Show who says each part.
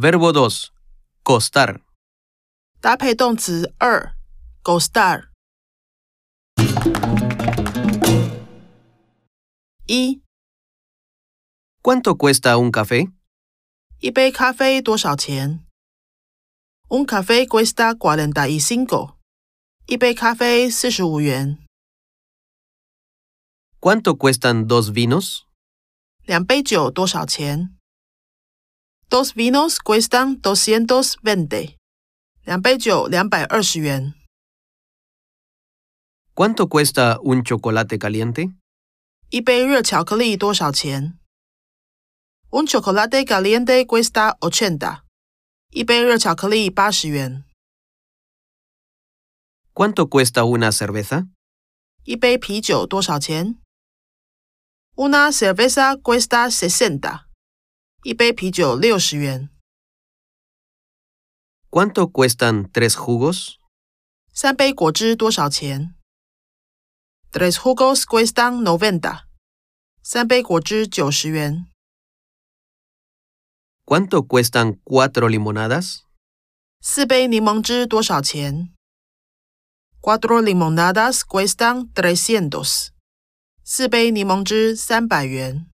Speaker 1: Verbo 2. Costar.
Speaker 2: 搭配动词2 costar。1.
Speaker 1: ¿Cuánto cuesta un café?
Speaker 2: 一杯咖啡多少钱 ？Un café cuesta 45. 一杯咖啡45元。
Speaker 1: ¿Cuánto cuestan 2 vinos?
Speaker 2: 两杯酒多少钱 ？Dos vinos cuestan 220. 两杯酒220元。
Speaker 1: ¿Cuánto cuesta un chocolate caliente?
Speaker 2: 一杯热巧克力多少钱 ？Un chocolate caliente cuesta 80. 一杯热巧克力80元。
Speaker 1: ¿Cuánto cuesta una cerveza?
Speaker 2: 一杯啤酒多少钱 ？Una cerveza cuesta 60. 一杯啤酒60元。
Speaker 1: ¿Cuánto cuestan 3 jugos?
Speaker 2: 三杯果汁多少钱 ？Tres jugos cuestan 90. 三杯果汁90元。
Speaker 1: ¿Cuánto cuestan 4 limonadas?
Speaker 2: 四杯柠檬汁多少钱 ？Cuatro limonadas cuestan 300. 四杯柠檬汁300元。